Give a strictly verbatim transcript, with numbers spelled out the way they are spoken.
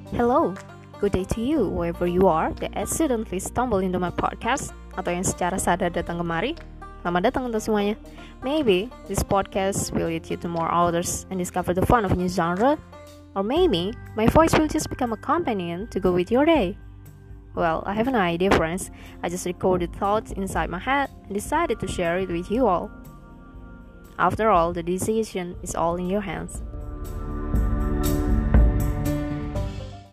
Hello, good day to you wherever you are that accidentally stumble into my podcast atau yang secara sadar datang kemari. Selamat datang untuk semuanya. Maybe this podcast will lead you to more authors and discover the fun of a new genre, or maybe my voice will just become a companion to go with your day. Well, I have no idea, friends. I just recorded thoughts inside my head and decided to share it with you all. After all, the decision is all in your hands.